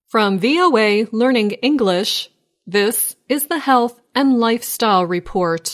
From VOA Learning English, this is the Health and Lifestyle Report.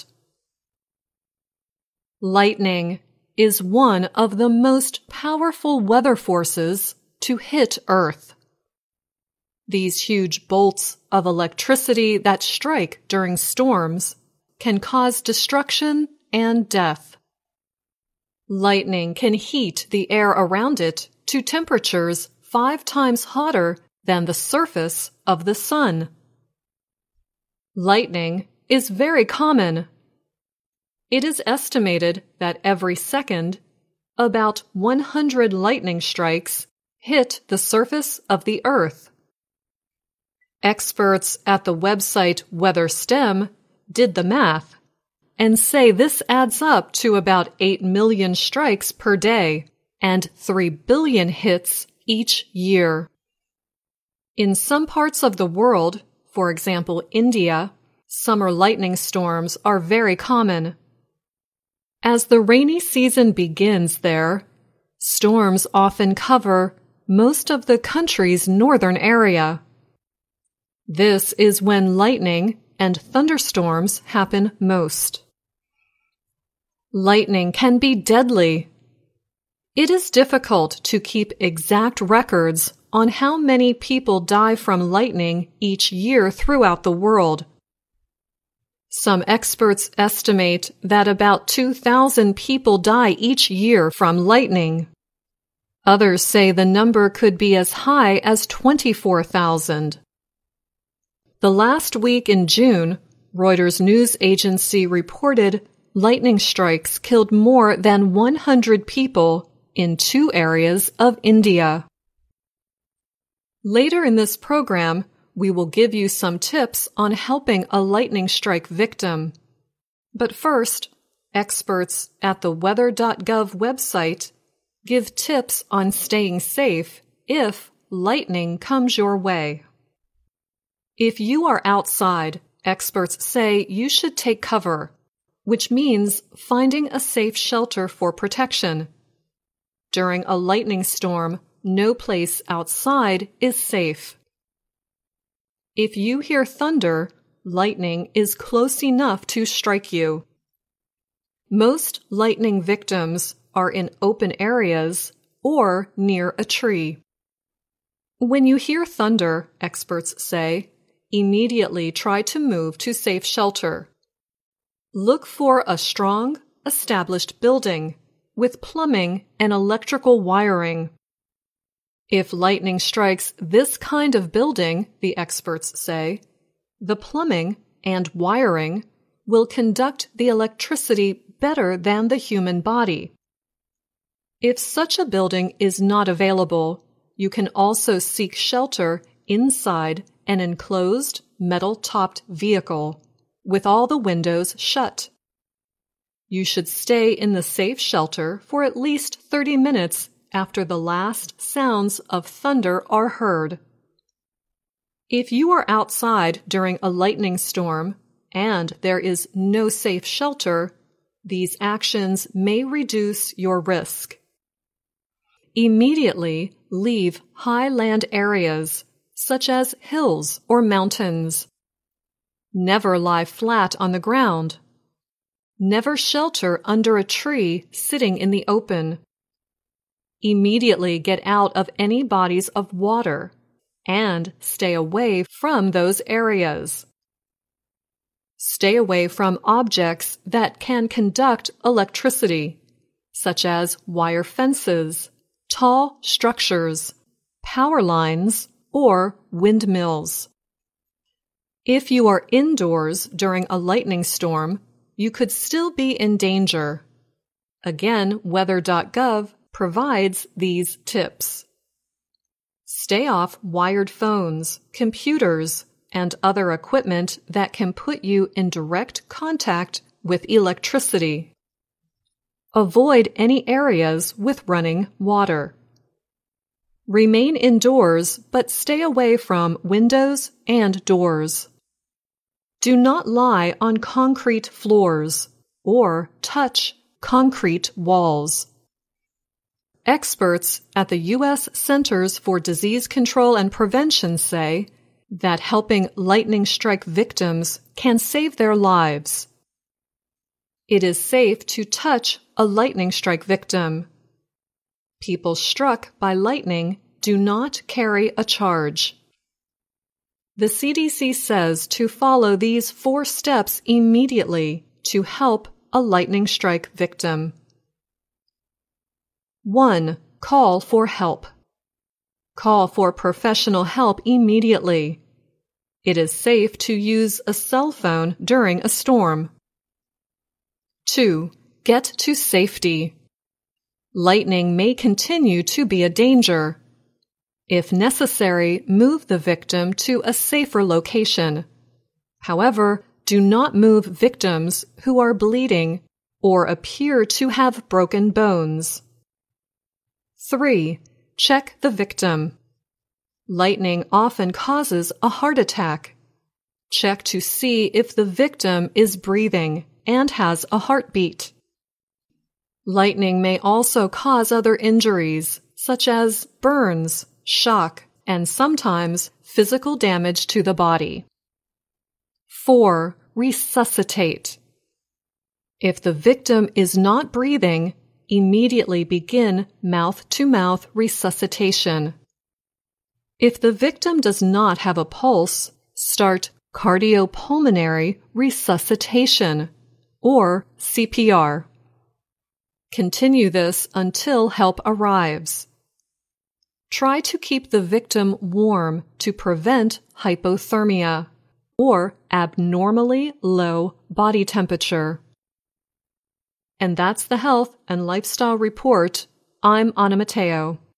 Lightning is one of the most powerful weather forces to hit Earth. These huge bolts of electricity that strike during storms can cause destruction and death. Lightning can heat the air around it to temperatures 5 times hotter than the surface of the sun. Lightning is very common. It is estimated that every second, about 100 lightning strikes hit the surface of the Earth. Experts at the website WeatherStem did the math and say this adds up to about 8 million strikes per day and 3 billion hits each year. In some parts of the world, for example India, summer lightning storms are very common. As the rainy season begins there, storms often cover most of the country's northern area. This is when lightning and thunderstorms happen most. Lightning can be deadly. It is difficult to keep exact records on how many people die from lightning each year throughout the world. Some experts estimate that about 2,000 people die each year from lightning. Others say the number could be as high as 24,000. The last week in June, Reuters news agency reported lightning strikes killed more than 100 people in 2 areas of India. Later in this program, we will give you some tips on helping a lightning strike victim. But first, experts at the weather.gov website give tips on staying safe if lightning comes your way. If you are outside, experts say you should take cover, which means finding a safe shelter for protection. During a lightning storm, no place outside is safe. If you hear thunder, lightning is close enough to strike you. Most lightning victims are in open areas or near a tree. When you hear thunder, experts say, immediately try to move to safe shelter. Look for a strong, established building with plumbing and electrical wiring. If lightning strikes this kind of building, the experts say, the plumbing and wiring will conduct the electricity better than the human body. If such a building is not available, you can also seek shelter inside an enclosed, metal-topped vehicle with all the windows shut. You should stay in the safe shelter for at least 30 minutes after the last sounds of thunder are heard. If you are outside during a lightning storm and there is no safe shelter, these actions may reduce your risk. Immediately leave high land areas, such as hills or mountains. Never lie flat on the ground. Never shelter under a tree sitting in the open. Immediately get out of any bodies of water and stay away from those areas. Stay away from objects that can conduct electricity, such as wire fences, tall structures, power lines, or windmills. If you are indoors during a lightning storm, you could still be in danger. Again, weather.gov provides these tips. Stay off wired phones, computers, and other equipment that can put you in direct contact with electricity. Avoid any areas with running water. Remain indoors, but stay away from windows and doors. Do not lie on concrete floors or touch concrete walls. Experts at the U.S. Centers for Disease Control and Prevention say that helping lightning strike victims can save their lives. It is safe to touch a lightning strike victim. People struck by lightning do not carry a charge. The CDC says to follow these 4 steps immediately to help a lightning strike victim. 1. Call for help. Call for professional help immediately. It is safe to use a cell phone during a storm. 2. Get to safety. Lightning may continue to be a danger. If necessary, move the victim to a safer location. However, do not move victims who are bleeding or appear to have broken bones. 3. Check the victim. Lightning often causes a heart attack. Check to see if the victim is breathing and has a heartbeat. Lightning may also cause other injuries, such as burns, shock, and sometimes physical damage to the body. 4. Resuscitate. If the victim is not breathing, immediately begin mouth-to-mouth resuscitation. If the victim does not have a pulse, start cardiopulmonary resuscitation, or CPR. Continue this until help arrives. Try to keep the victim warm to prevent hypothermia, or abnormally low body temperature. And that's the Health and Lifestyle Report. I'm Anna Matteo.